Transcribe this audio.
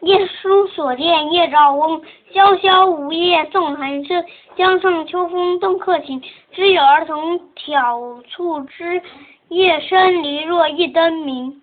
夜书所见夜照翁，萧萧梧叶送寒声。江上秋风动客情，知有儿童挑促织。夜深篱落一灯明。